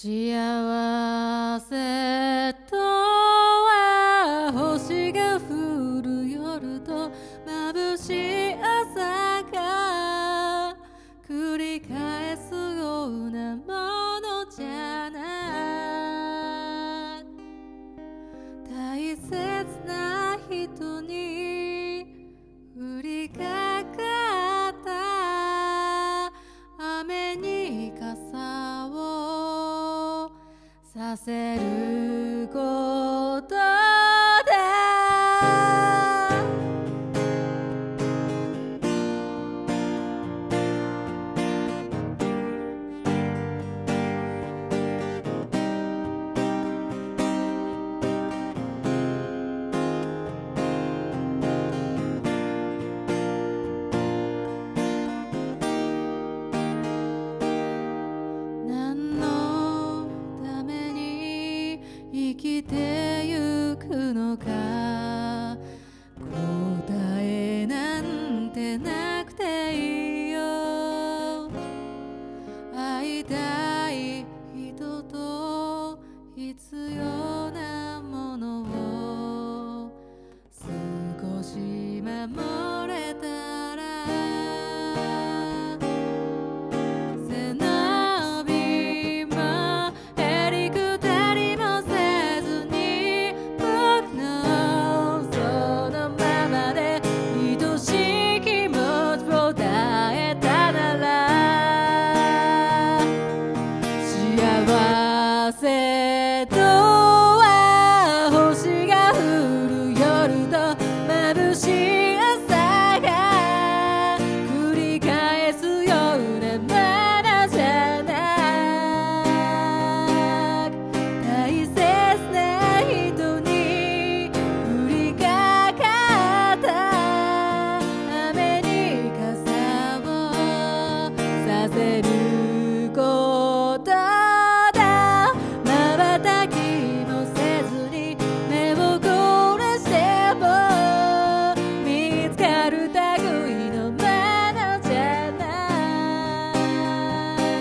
幸せとは星が降る夜と眩しい朝が繰り返すようなものじゃない。大切な人に降りかかった雨に傘をさせることだ。何のために生きてゆくのか、答えなんてなくていいよ。会いたい人と必要なものを少し守れたら、背伸びもへりくだりもせずに僕のそのままで愛しい気持ちを伝えたなら、幸せとは星が降る夜と眩しい朝が繰り返すようなものじゃない。大切な人に降りかかった雨に傘をさせることだ。瞬きもせずに目を凝らしても見つかる類のものじゃない。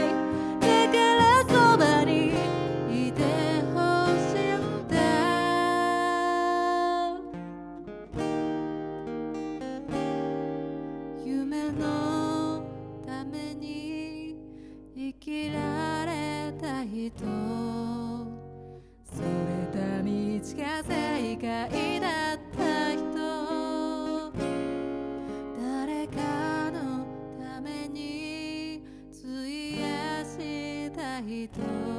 だからそばにいてほしいんだ。夢のために生きられた人、それた道が正解だった人、誰かのために費やした人。